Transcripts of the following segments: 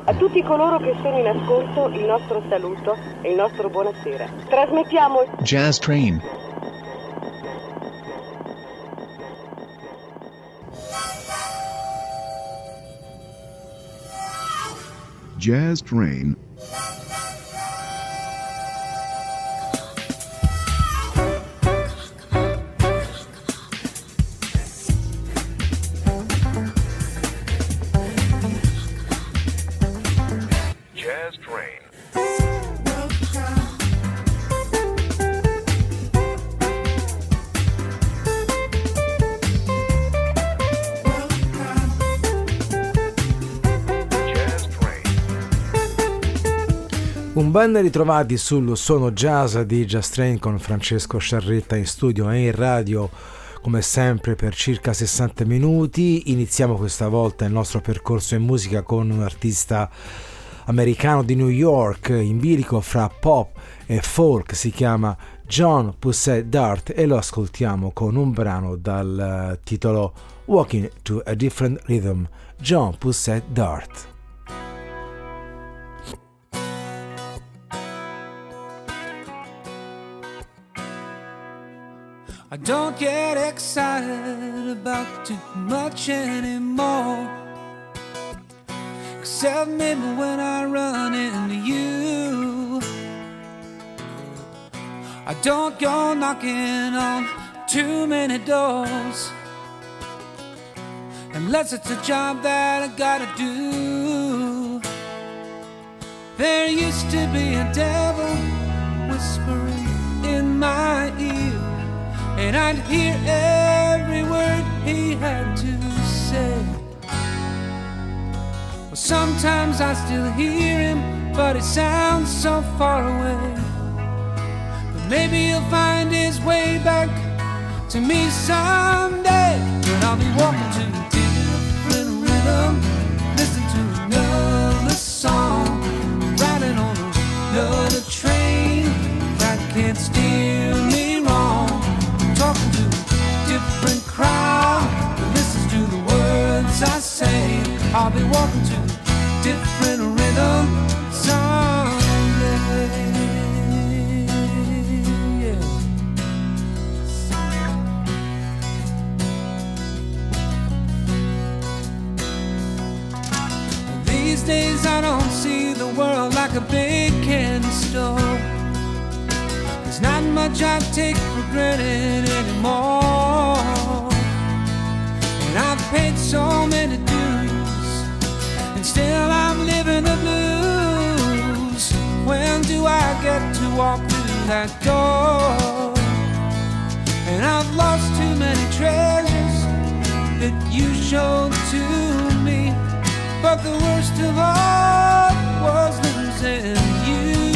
A tutti coloro che sono in ascolto il nostro saluto e il nostro buonasera. Trasmettiamo Jazz Train. Jazz Train. Un ben ritrovati sul suono jazz di Jazz Train con Francesco Sciarretta in studio e in radio come sempre per circa 60 minuti. Iniziamo questa volta il nostro percorso in musica con un artista americano di New York in bilico fra pop e folk, si chiama John Pussett Dart e lo ascoltiamo con un brano dal titolo Walking to a Different Rhythm. John Pussett Dart. I don't get excited about too much anymore, except maybe when I run into you. I don't go knocking on too many doors, unless it's a job that I gotta do. There used to be a devil whispering in my ear, and I'd hear every word he had to say. Well, sometimes I still hear him, but it sounds so far away. But maybe he'll find his way back to me someday. But I'll be walking to a different rhythm, listen to another song, riding on another train that can't steer me wrong. Talking to a different crowd that listens to the words I say. I'll be walking to a different rhythm someday. Yeah. These days I don't see the world like a big candy store. There's not much I take for granted anymore, and I've paid so many dues, and still I'm living the blues. When do I get to walk through that door? And I've lost too many treasures that you showed to me, but the worst of all was losing you.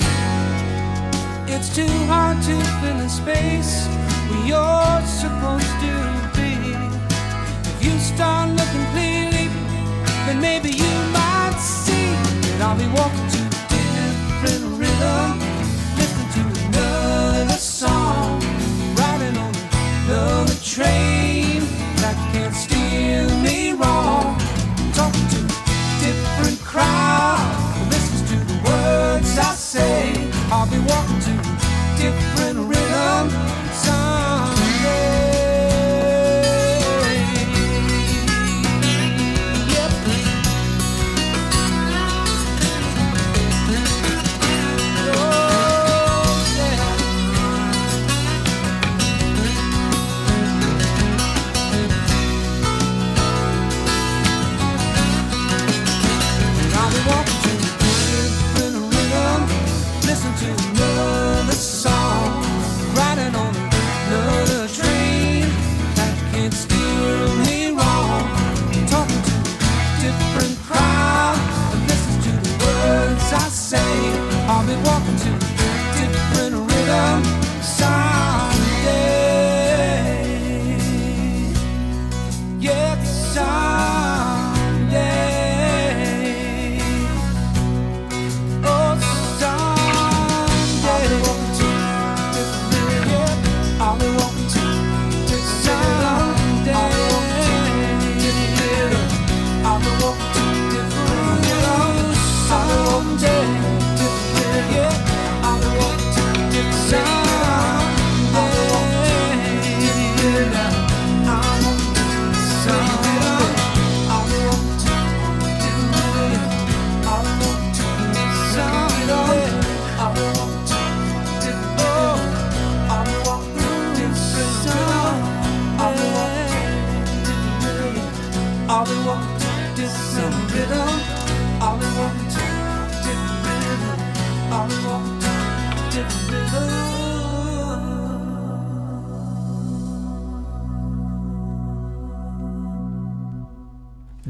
It's too hard to fill a space where you're supposed to be. If you start looking clearly, then maybe you might see that I'll be walking to a different rhythm, listening to another song, riding on another train that can't steer me wrong. Talking to a different crowd that listens to the words I say. I'll be walking to a different rhythm someday. Yep. Oh.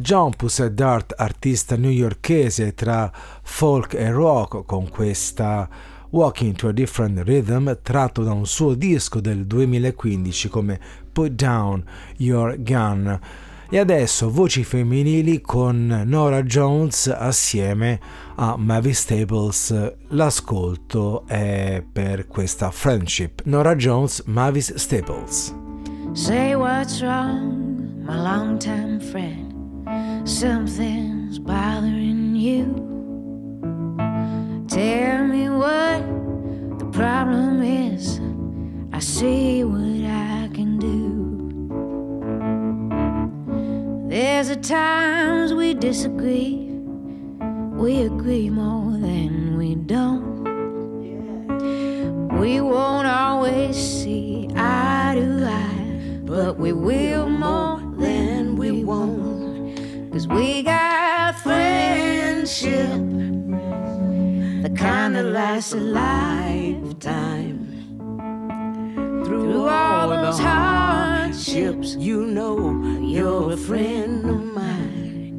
John Pussycat, artista newyorkese tra folk e rock, con questa Walking to a Different Rhythm, tratto da un suo disco del 2015 come Put Down Your Gun. E adesso voci femminili con Norah Jones assieme a Mavis Staples. L'ascolto è per questa Friendship. Norah Jones, Mavis Staples. Say what's wrong, my longtime friend. Something's bothering you. Tell me what the problem is. I see what I can do. There's a times we disagree. We agree more than we don't. We won't always see eye to eye, but we will more than we won't. 'Cause we got friendship, the kind that lasts a lifetime. Through all those hardships, you know you're a friend of mine.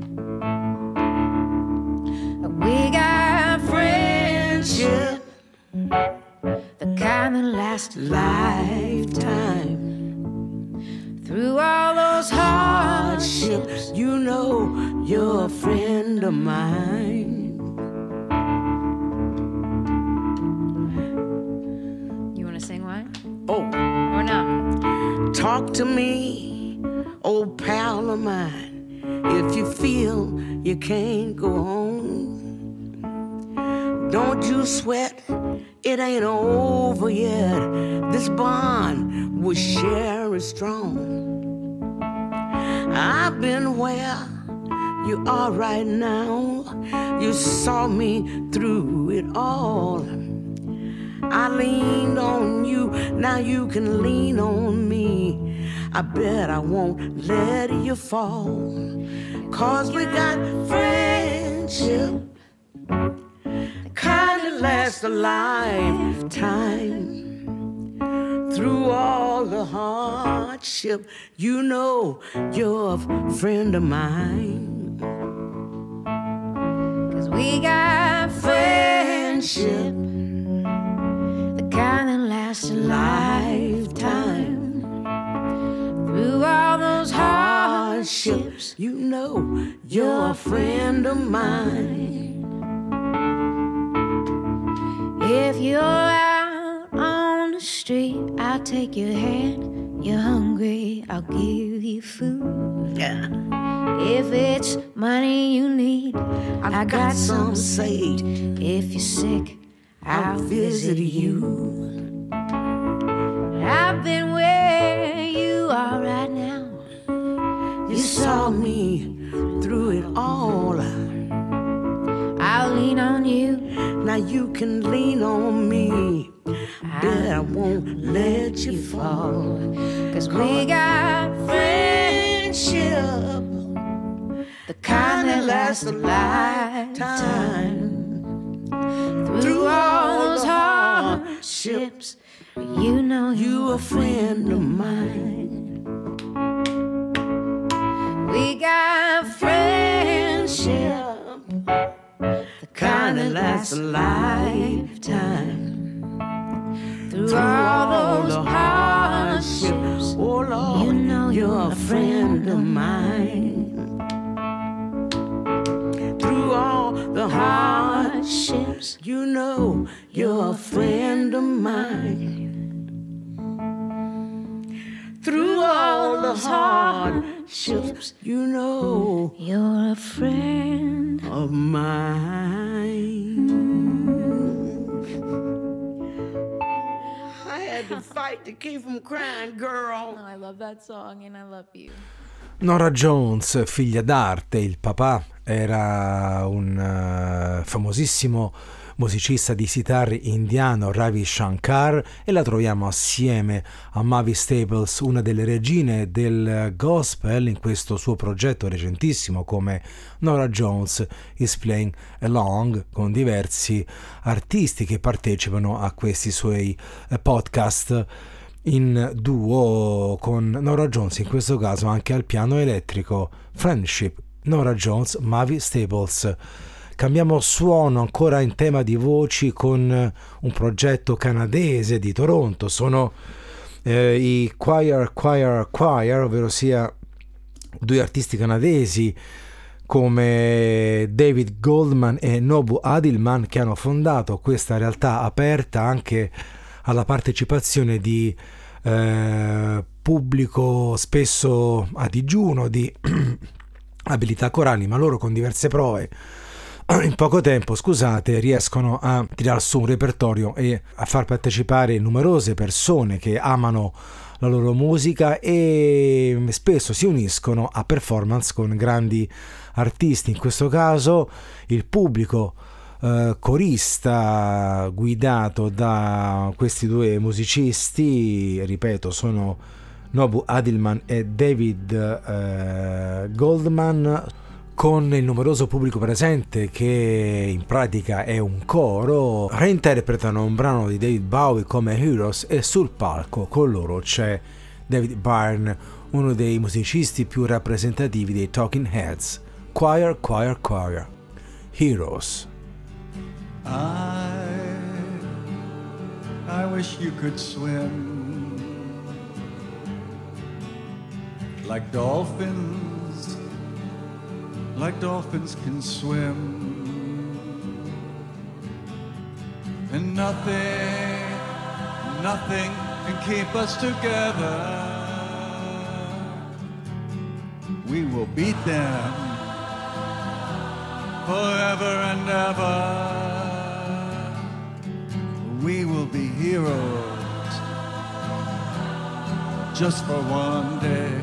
We got friendship, the kind that lasts a lifetime. Through all those hardships, you know you're a friend of mine. You want to sing one? Oh, Or no? talk to me, old pal of mine, if you feel you can't go on. Don't you sweat, it ain't over yet. This bond we share is strong. I've been where you are right now. You saw me through it all. I leaned on you, now you can lean on me. I bet I won't let you fall. 'Cause we got friendship, kind that lasts a lifetime. Through all the hardship, you know you're a friend of mine. 'Cause we got friendship, the kind that lasts a lifetime. Through all those hardships, you know you're a friend of mine. if you're out on the street, I'll take your hand. You're hungry, I'll give you food. Yeah. If it's money you need, I got some saved. If you're sick, I'll visit you. I've been where you are right now. You saw me through it all. I'll lean on you. Now you can lean on me. Bet I won't let you fall. 'Cause we got friendship, the kind that lasts a lifetime. Through all those hardships, you know you're a friend of mine. We got friendship, the kind that lasts a lifetime. Through all those hardships, oh Lord, you know you're a friend of mine. Through all the Hardships, you know you're a friend of mine. Through all the hardships, you know you're a friend of mine. I had to fight to keep from crying, girl. Oh, I love that song and I love you. Norah Jones, figlia d'arte, il papà era un famosissimo musicista di sitar indiano, Ravi Shankar, e la troviamo assieme a Mavis Staples, una delle regine del gospel, in questo suo progetto recentissimo come Norah Jones is Playing Along, con diversi artisti che partecipano a questi suoi podcast in duo con Norah Jones, in questo caso anche al piano elettrico. Friendship, Norah Jones, Mavis Staples. Cambiamo suono ancora in tema di voci con un progetto canadese di Toronto. Sono i Choir, ovvero sia due artisti canadesi come David Goldman e Nobu Adilman, che hanno fondato questa realtà aperta anche alla partecipazione di pubblico spesso a digiuno di abilità corali, ma loro con diverse prove in poco tempo, riescono a tirare su un repertorio e a far partecipare numerose persone che amano la loro musica e spesso si uniscono a performance con grandi artisti. In questo caso il pubblico corista guidato da questi due musicisti, ripeto, sono Nobu Adilman e David Goldman, con il numeroso pubblico presente che in pratica è un coro, reinterpretano un brano di David Bowie come Heroes, e sul palco con loro c'è David Byrne, uno dei musicisti più rappresentativi dei Talking Heads. Choir, Heroes. I wish you could swim like dolphins can swim, and nothing can keep us together. We will beat them forever and ever. We will be heroes just for one day.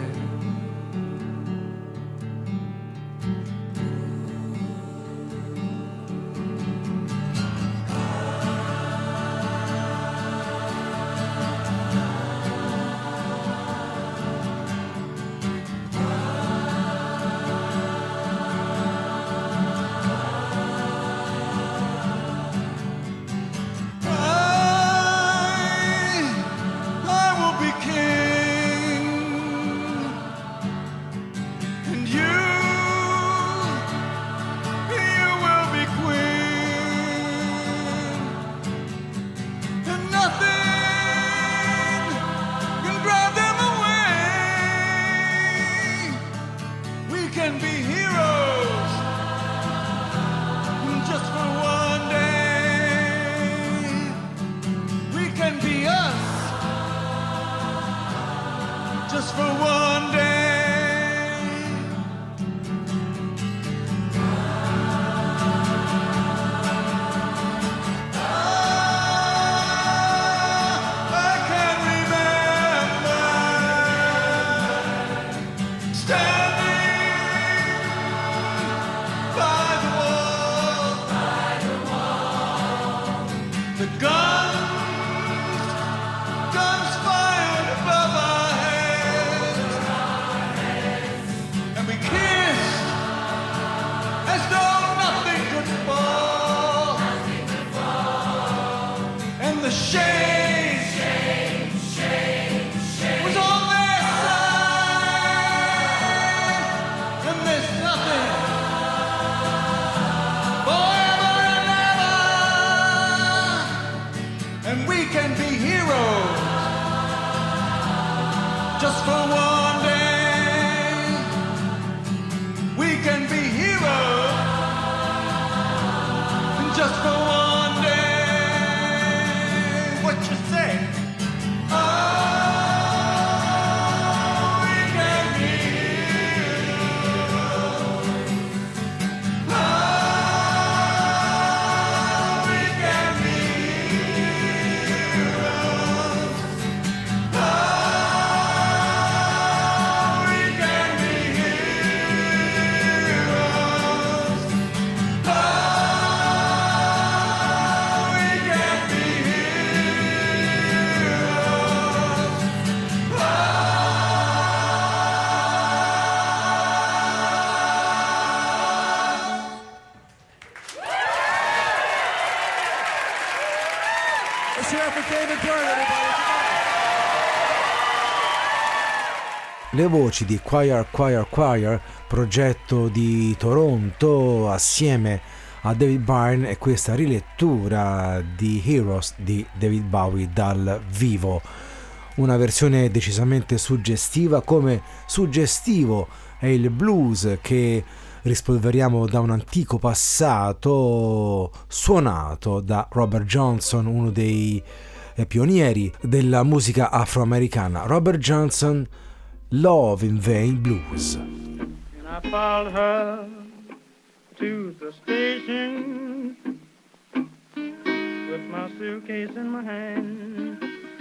Le voci di Choir Choir Choir, progetto di Toronto assieme a David Byrne, e questa rilettura di Heroes di David Bowie dal vivo. Una versione decisamente suggestiva, come suggestivo è il blues che rispolveriamo da un antico passato suonato da Robert Johnson, uno dei pionieri della musica afroamericana. Robert Johnson, Love in Vain Blues. And I followed her to the station with my suitcase in my hand.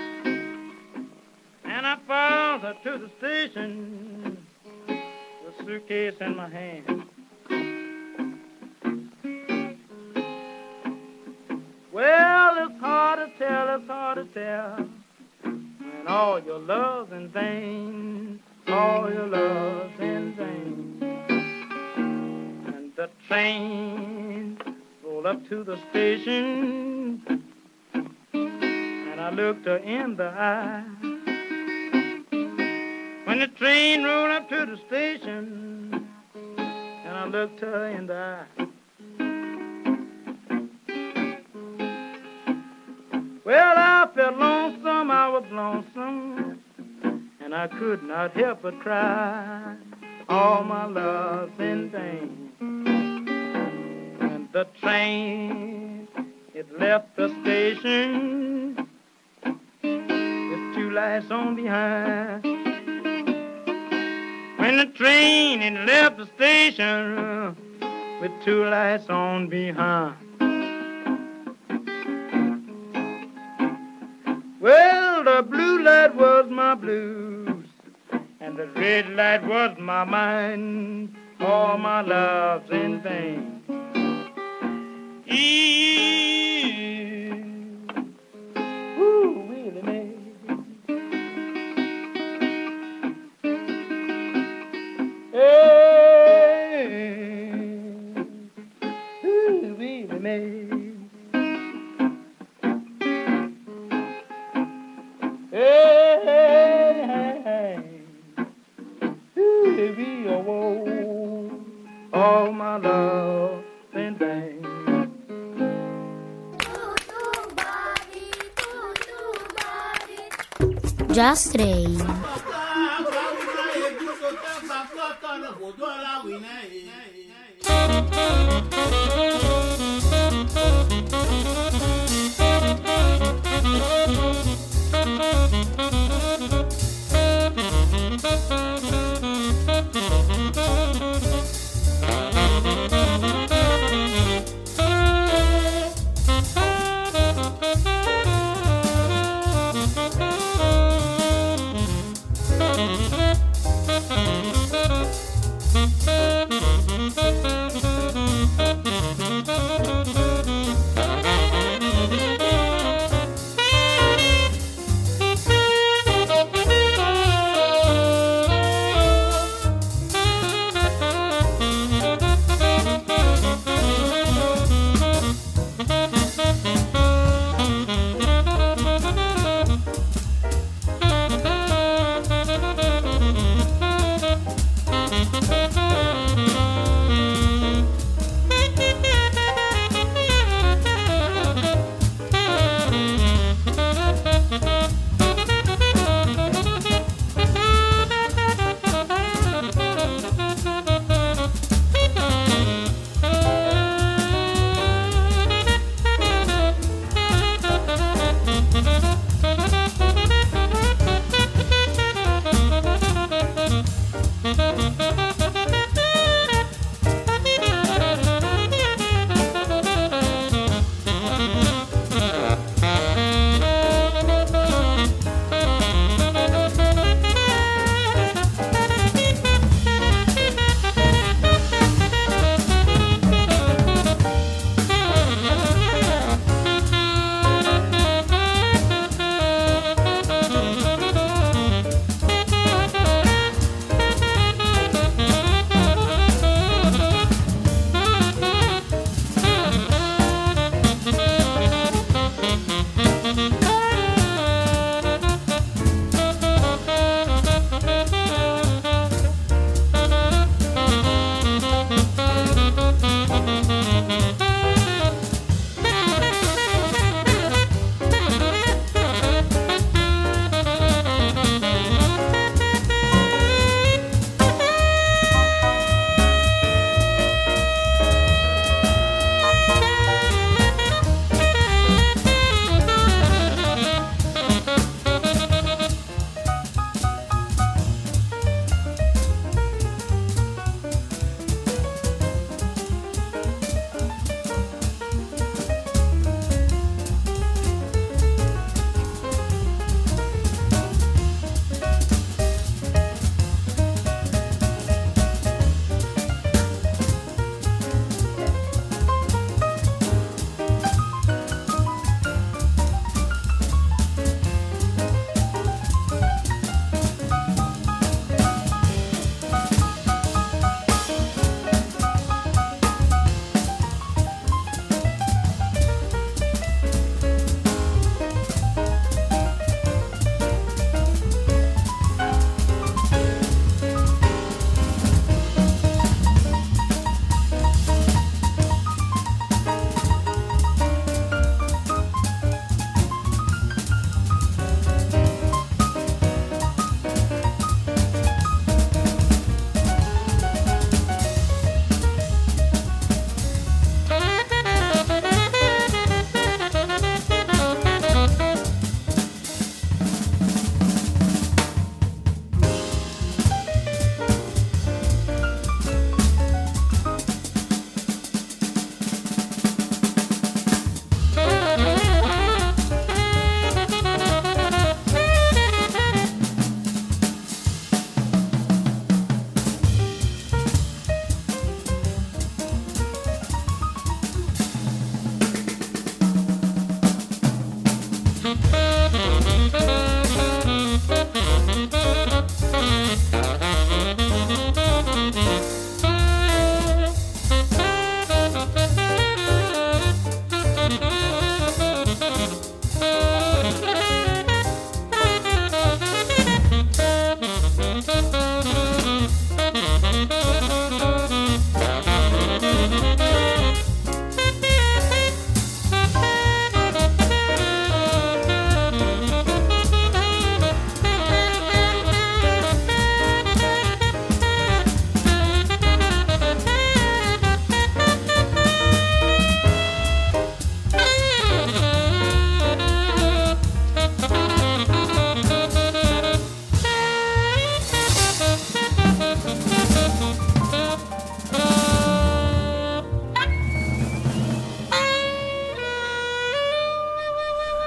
And I followed her to the station with a suitcase in my hand. Well, it's hard to tell when all your love's in vain, all your love's in vain. And the train rolled up to the station, and I looked her in the eye. When the train rolled up to the station, and I looked her in the eye. Well, I felt lonesome, I was lonesome, and I could not help but cry. All my love's in vain. And the train, it left the station with two lights on behind. When the train, it left the station with two lights on behind. Well, the blue light was my blues, and the red light was my mind. All my love's in vain. Ooh, Willie Mae. Hey, ooh, Willie Mae. Hey, hey, hey, hey. Ooh, baby, oh, oh, all my love in vain. Just Rain.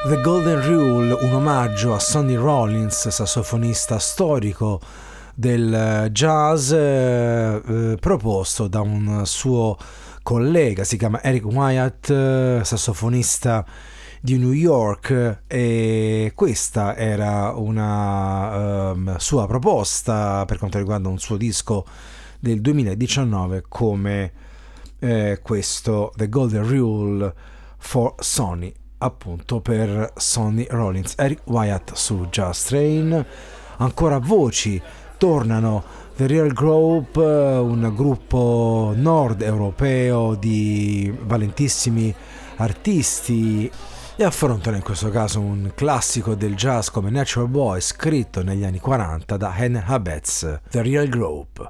The Golden Rule, un omaggio a Sonny Rollins, sassofonista storico del jazz, proposto da un suo collega, si chiama Eric Wyatt, sassofonista di New York, e questa era una sua proposta per quanto riguarda un suo disco del 2019 come questo The Golden Rule for Sonny, appunto per Sonny Rollins. Eric Wyatt su Jazz Train. Ancora voci, tornano The Real Group, un gruppo nord europeo di valentissimi artisti, e affrontano in questo caso un classico del jazz come Natural Boy, scritto negli anni 40 da Hen Habetz. The Real Group.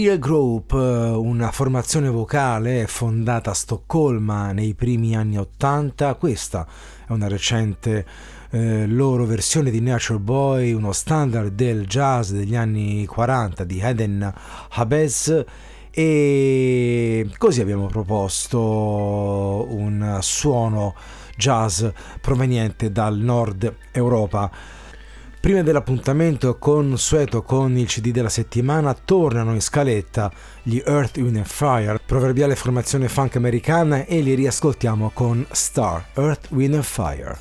Real Group, una formazione vocale fondata a Stoccolma nei primi anni '80. Questa è una recente loro versione di Nature Boy, uno standard del jazz degli anni 40 di Eden Habez, e così abbiamo proposto un suono jazz proveniente dal nord Europa. Prima dell'appuntamento consueto con il CD della settimana, tornano in scaletta gli Earth, Wind and Fire, proverbiale formazione funk americana, e li riascoltiamo con Star, Earth, Wind and Fire.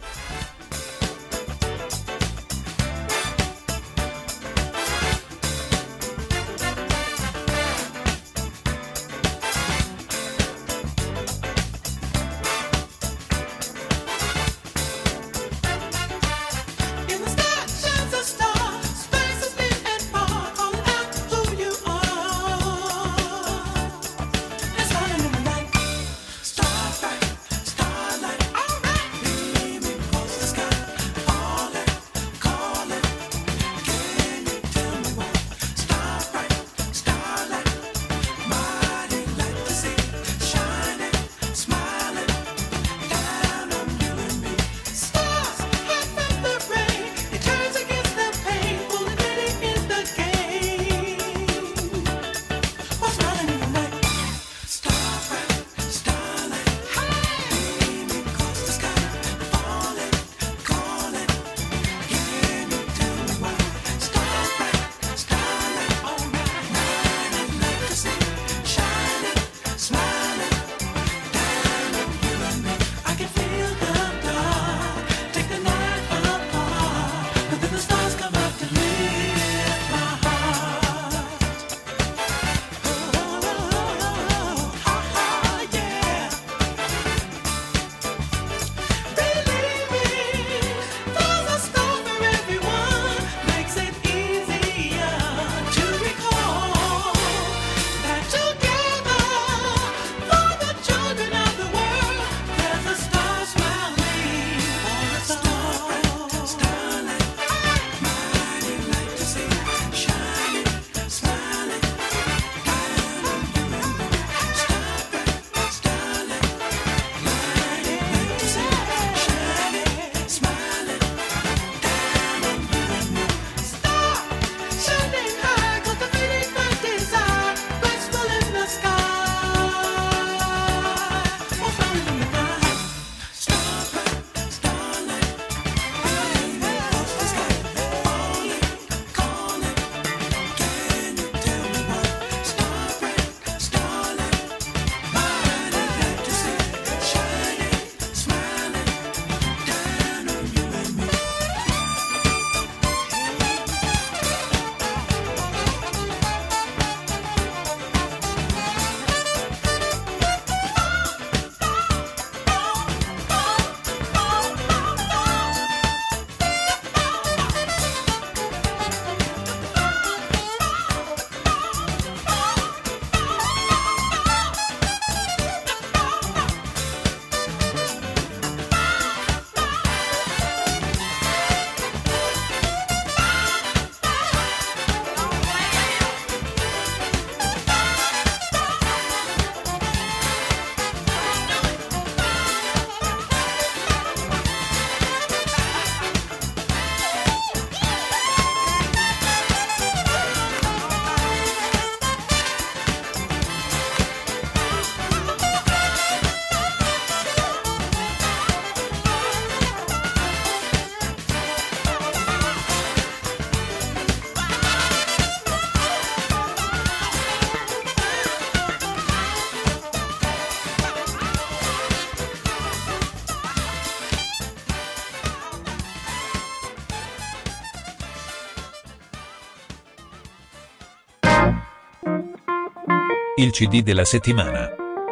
Il CD della settimana.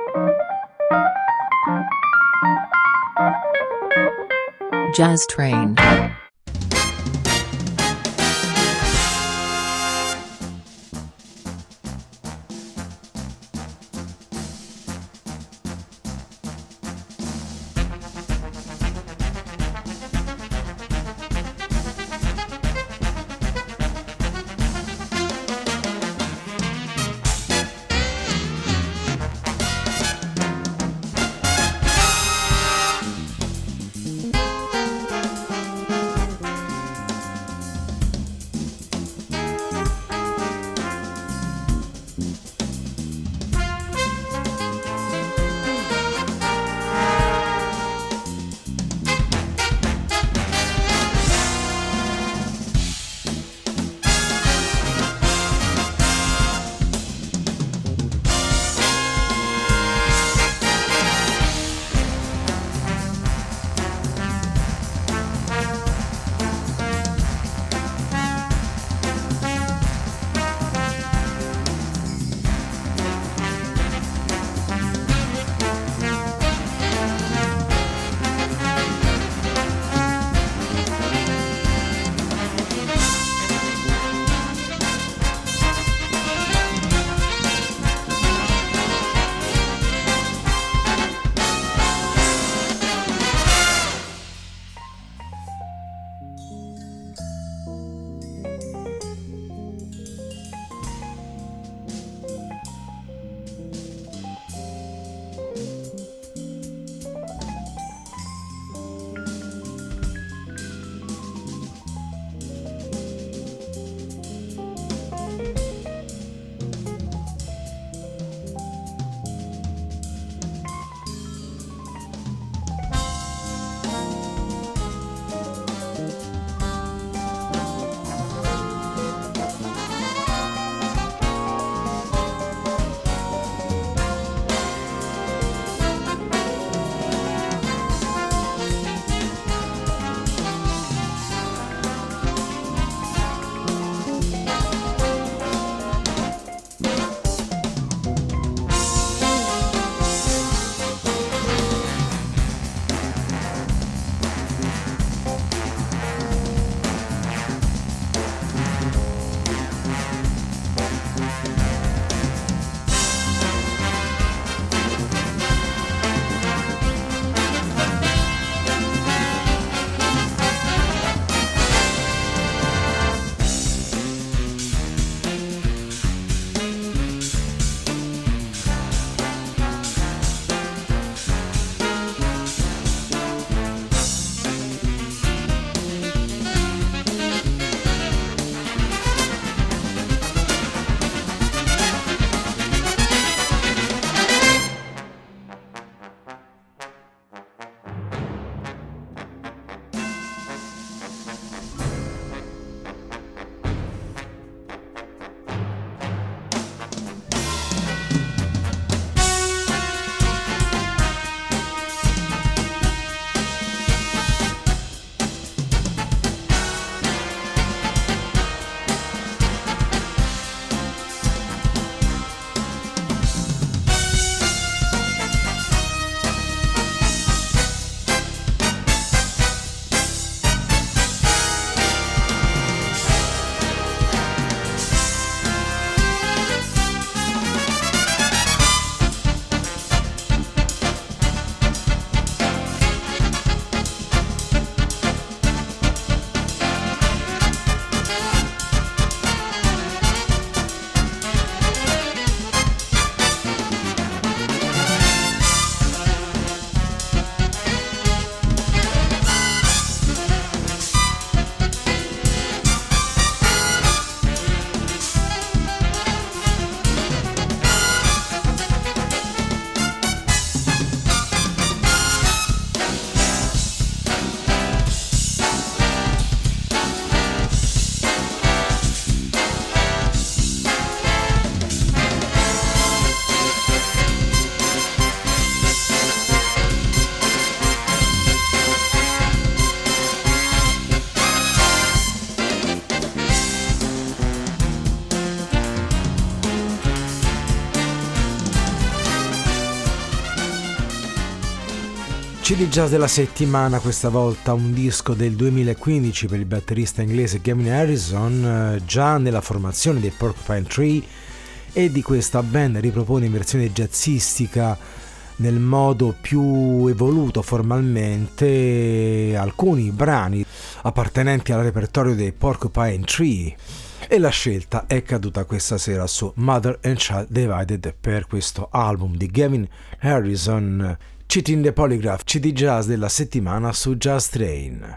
Jazz Train. CD Jazz della settimana, questa volta un disco del 2015 per il batterista inglese Gavin Harrison, già nella formazione dei Porcupine Tree, e di questa band ripropone in versione jazzistica nel modo più evoluto formalmente alcuni brani appartenenti al repertorio dei Porcupine Tree, e la scelta è caduta questa sera su Mother and Child Divided per questo album di Gavin Harrison. Cheating the Polygraph, CD Jazz della settimana su Jazz Train.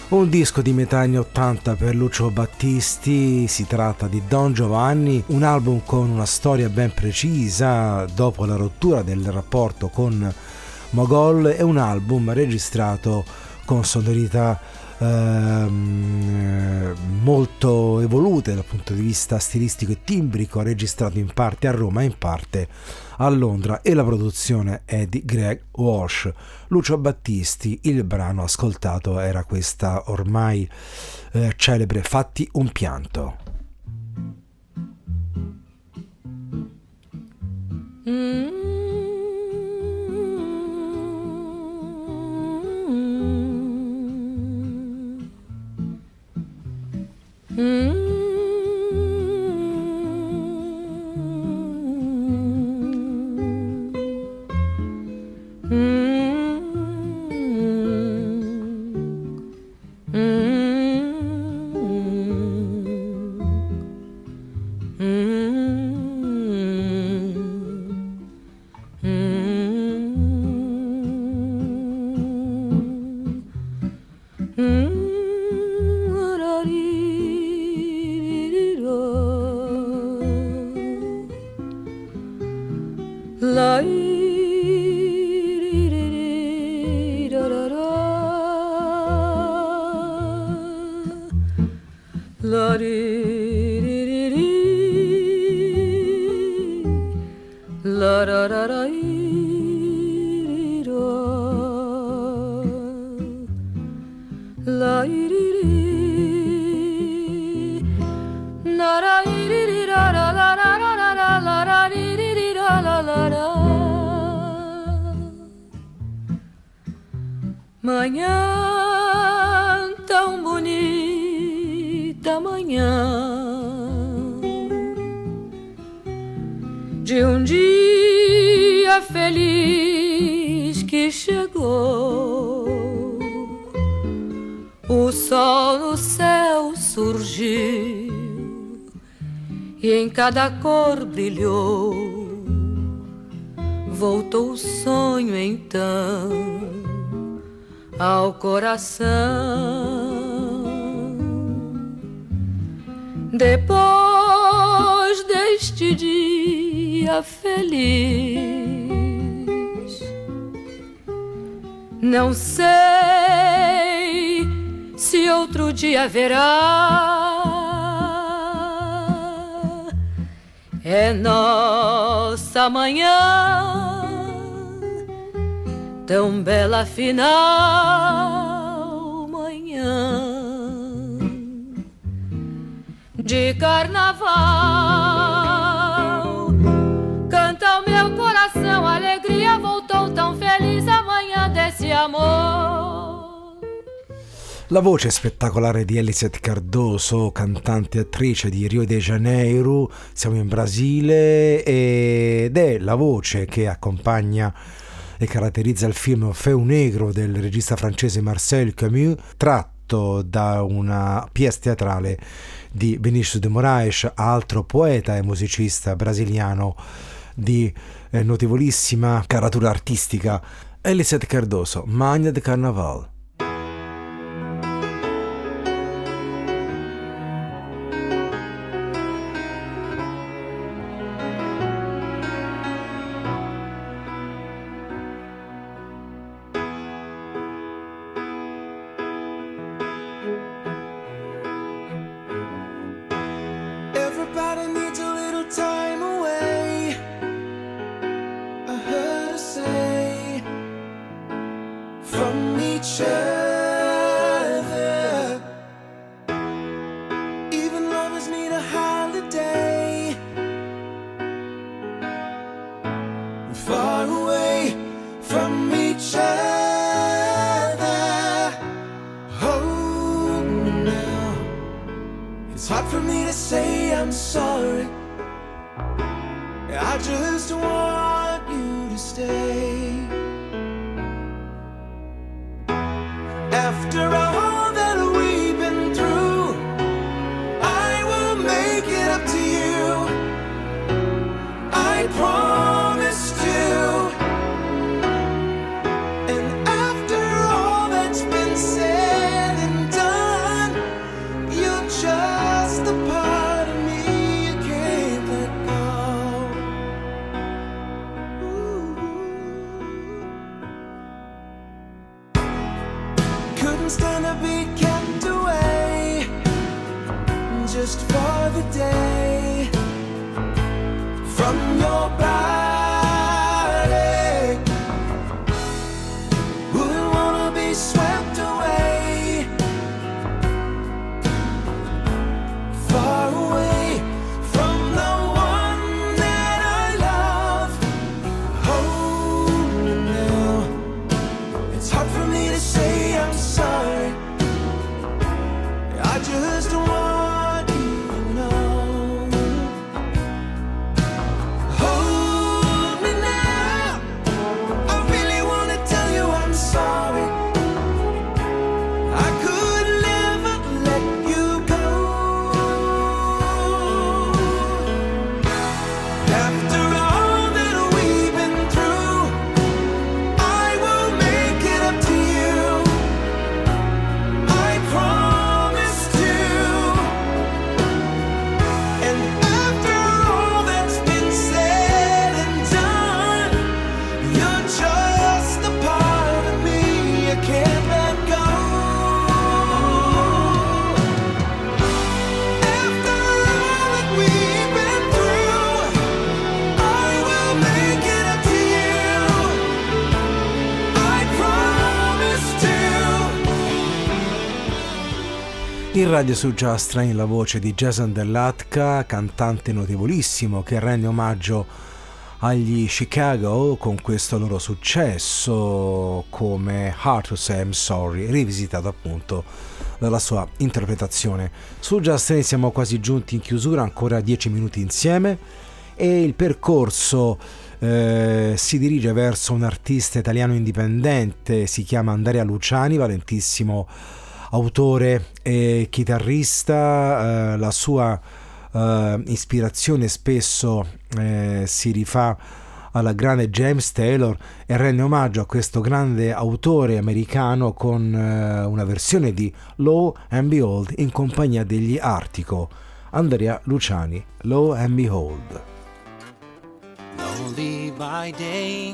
Un disco di metà anni 80 per Lucio Battisti, si tratta di Don Giovanni, un album con una storia ben precisa dopo la rottura del rapporto con Mogol e un album registrato con sonorità molto evolute dal punto di vista stilistico e timbrico, registrato in parte a Roma e in parte a Londra, e la produzione è di Greg Walsh. Lucio Battisti, il brano ascoltato era questa ormai celebre Fatti un pianto. Manhã tão bonita, manhã de um dia feliz que chegou. O sol no céu surgiu e em cada cor brilhou. Voltou o sonho então ao coração. Depois deste dia feliz, não sei se outro dia haverá. É nossa manhã tão bela final, manhã de carnaval. Canta o meu coração, a alegria voltou tão feliz, a manhã desse amor. La voce spettacolare di Eliseth Cardoso, cantante e attrice di Rio de Janeiro, siamo in Brasile, ed è la voce che accompagna e caratterizza il film Feu Negro del regista francese Marcel Camus, tratto da una pièce teatrale di Vinícius de Moraes, altro poeta e musicista brasiliano di notevolissima caratura artistica. Eliseth Cardoso, Manhã de Carnaval. Everybody needs a little time away, I heard her say, from each other. Even lovers need a holiday, far away from each other. Hold me now, it's hard for me to say I'm sorry. I just want you to stay. After all that we've been through, I will make it up to you, I promised you. And after all that's been said and done, couldn't stand to be kept away just for the day from your body. Wouldn't wanna be swept away, far away from the one that I love. Hold me now. It's hard for me to say I'm sorry. I just want you to know. Hold me now. I really want to tell you I'm sorry. I could never let you go. After all that we've been through, I will make it up to you. I promise to. And after all that's been said and done, you're just a part of me I can't let go. After all that we've been through, I will make it up to you. I promise to. In radio su Just Train la voce di Jason Dell'Atka, cantante notevolissimo che rende omaggio agli Chicago con questo loro successo come Hard to Say I'm Sorry, rivisitato appunto dalla sua interpretazione. Su Just Train siamo quasi giunti in chiusura, ancora 10 minuti insieme e il percorso si dirige verso un artista italiano indipendente, si chiama Andrea Luciani, valentissimo autore e chitarrista. La sua ispirazione spesso si rifà alla grande James Taylor e rende omaggio a questo grande autore americano con una versione di Lo and Behold in compagnia degli Artico. Andrea Luciani, Lo and Behold. Lonely by day,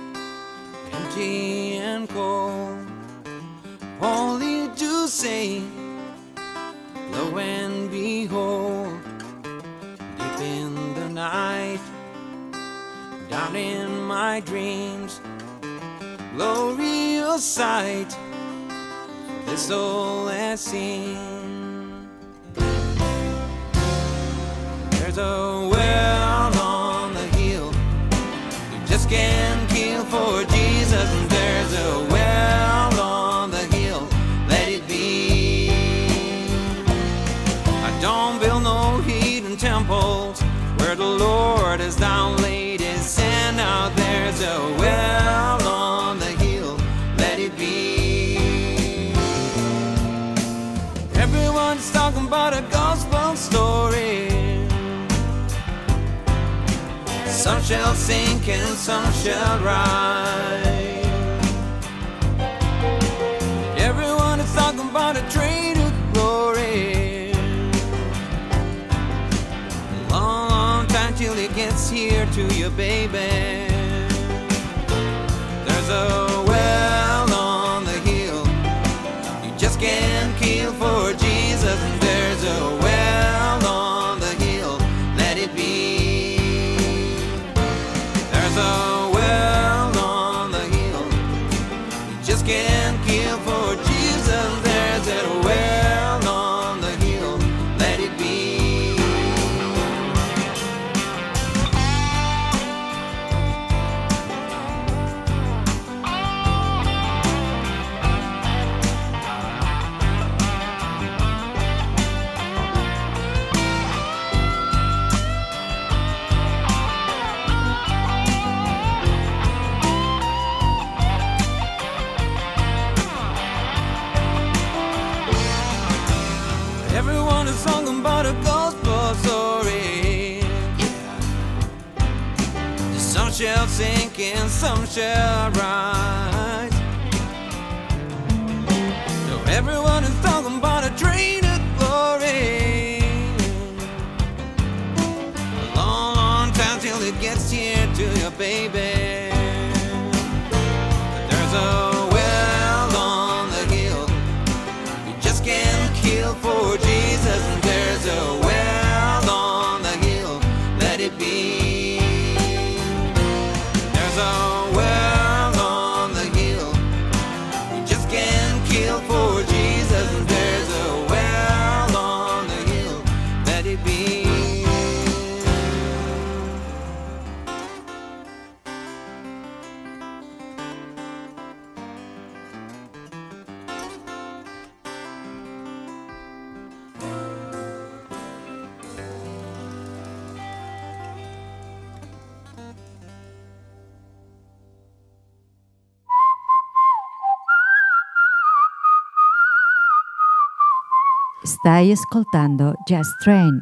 empty and cold, only to say, lo and behold, deep in the night, down in my dreams, glorious sight, this soul has seen. There's a well on the hill, you just can't kill for Jesus, and there's a well on the hill, let it be. I don't build no hidden temples where the Lord has down laid his sand. Out there's a well on the hill, let it be. Everyone's talking about a gospel story. Some shall sink and some shall rise. Everyone is talking about a train of glory. A long, long time till it gets here to you, baby. There's a well on the hill, you just can't kill for Jesus. And there's a well on the hill, let it be. There's a well on the hill, you just can't kill for Jesus. There's a well on the hill, let it be. Everyone is talking about a gospel story. Yeah. Some shall sink and some shall rise. So everyone is talking about a train of glory. A long, long time till it gets here to you, baby. But there's a well on the hill, Stai ascoltando Jazz Train.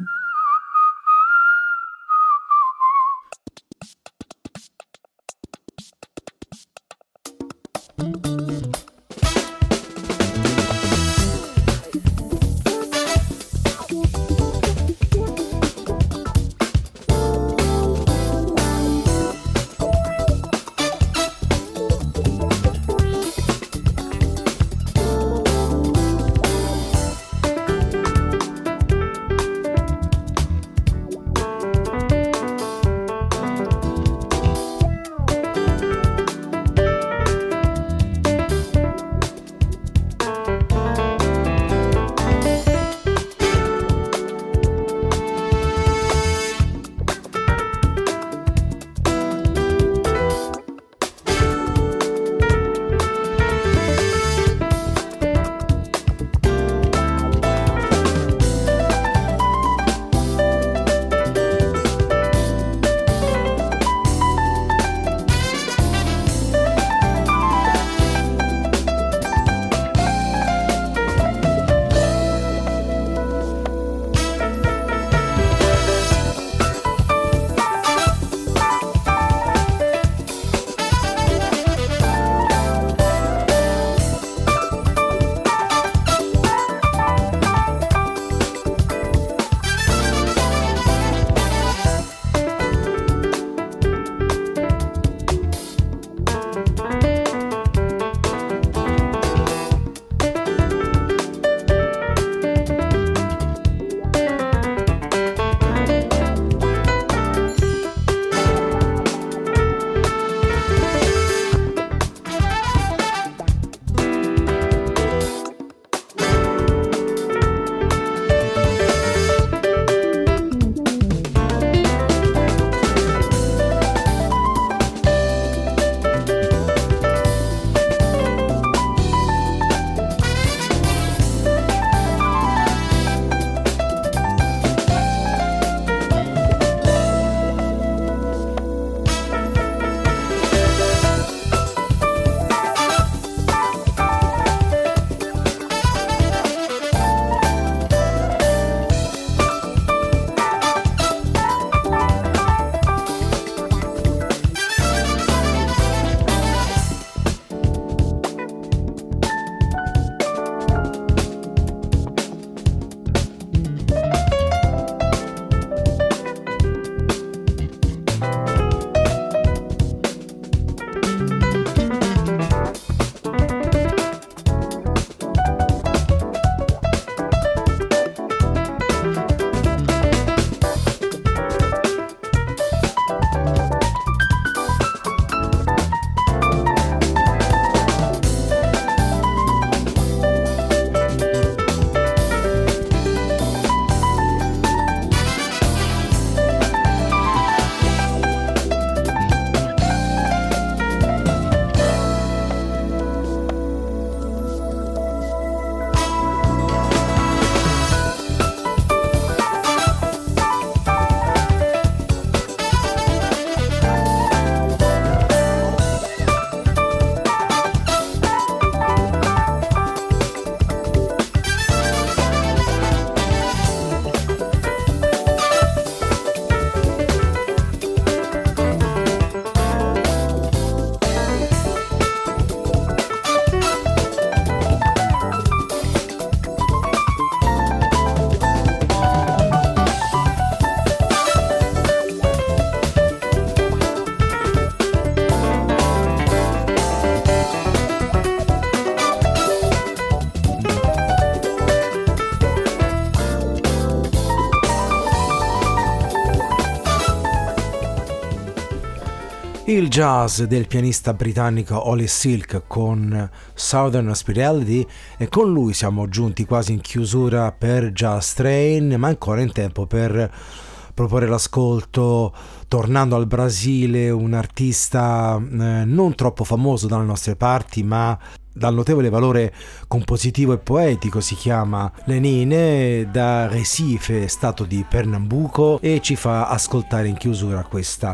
Il jazz del pianista britannico Ollie Silk con Southern Hospitality, e con lui siamo giunti quasi in chiusura per Jazz Train, ma ancora in tempo per proporre l'ascolto, tornando al Brasile, un artista non troppo famoso dalle nostre parti, ma dal notevole valore compositivo e poetico. Si chiama Lenine, da Recife, stato di Pernambuco, e ci fa ascoltare in chiusura questa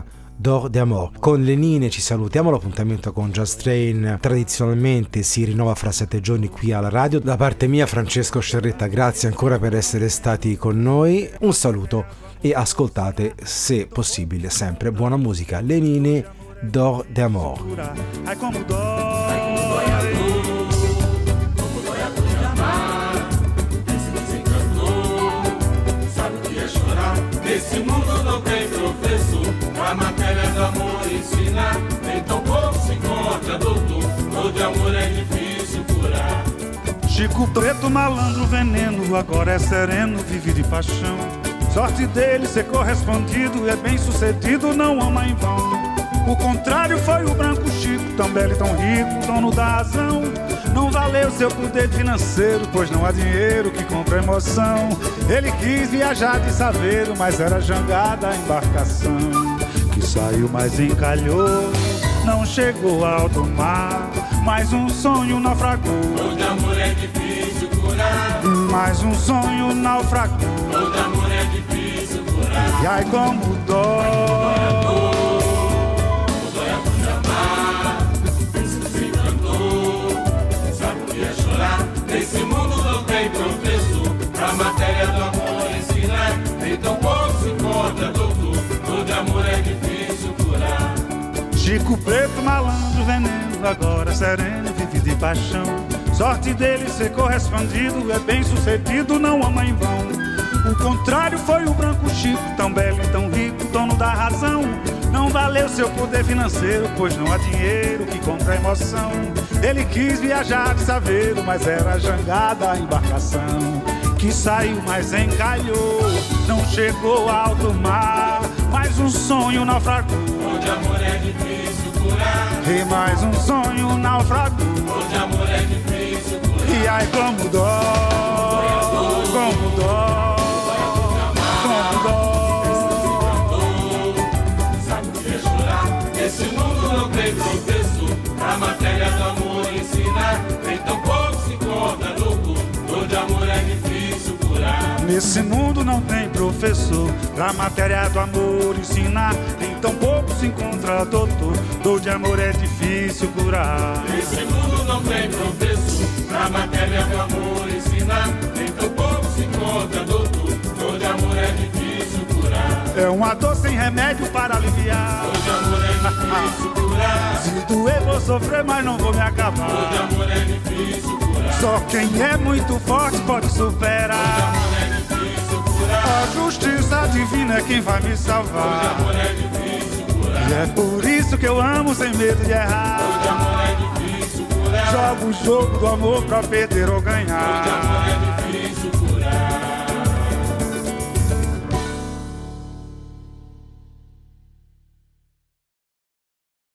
d'Or d'Amor. Con le Nine ci salutiamo, l'appuntamento con Jazz Train tradizionalmente si rinnova fra 7 giorni qui alla radio. Da parte mia, Francesco Sciarretta, grazie ancora per essere stati con noi, un saluto e ascoltate, se possibile, sempre buona musica. Le Nine d'Or d'Amor. Ai como dói a dor, como dói a dor de amar. Esse desencantou, sabe o que é chorar? Nesse mundo não tem professor pra matéria do amor ensinar. Nem tão pouco se encontra doutor, dor de amor é difícil curar. Chico Preto, malandro, veneno, agora é sereno, vive de paixão. Sorte dele ser correspondido, é bem sucedido, não ama em vão. O contrário foi o branco Chico, tão belo e tão rico, dono da razão. Não valeu seu poder financeiro, pois não há dinheiro que compra emoção. Ele quis viajar de saveiro, mas era jangada a embarcação. Que saiu, mas encalhou, não chegou ao alto mar. Mais um sonho naufragou, dor de amor é difícil curar. Mais um sonho naufragou, dor de amor é difícil curar. E ai como dói. Nesse mundo não tem professor pra matéria do amor ensinar. Nem tão pouco se encontra doutor, dor de amor é difícil curar. Chico Preto, malandro, veneno, agora sereno, vive de paixão. Sorte dele ser correspondido, é bem sucedido, não ama em vão. O contrário foi o branco Chico, tão belo e tão rico, dono da razão. Não valeu seu poder financeiro, pois não há dinheiro que compra emoção. Ele quis viajar de saveiro, mas era jangada a embarcação. Que saiu, mas encalhou, não chegou ao alto mar. Mais um sonho naufragou, dor de amor é difícil curar. E mais um sonho naufragou, dor de amor é difícil curar. E ai como dói, como dói, como dói. Esse mundo não tem professor pra matéria do amor ensinar. Nem tão pouco se encontra doutor, dor de amor é difícil curar. Nesse mundo não tem professor pra matéria do amor ensinar. Nem tão pouco se encontra doutor, dor de amor é difícil curar. Nesse mundo não tem professor pra matéria do amor ensinar. Nem tão pouco se encontra doutor, dor de amor é difícil curar. É uma dor sem remédio para aliviar. Dor de amor é difícil curar. Se doer vou sofrer, mas não vou me acabar. Dor de amor é difícil curar. Só quem é muito forte pode superar. Dor de amor é difícil curar. A justiça divina é quem vai me salvar. Dor de amor é difícil curar. E é por isso que eu amo sem medo de errar. Dor de amor é difícil curar. Jogo o jogo do amor pra perder ou ganhar. Dor de amor é difícil curar.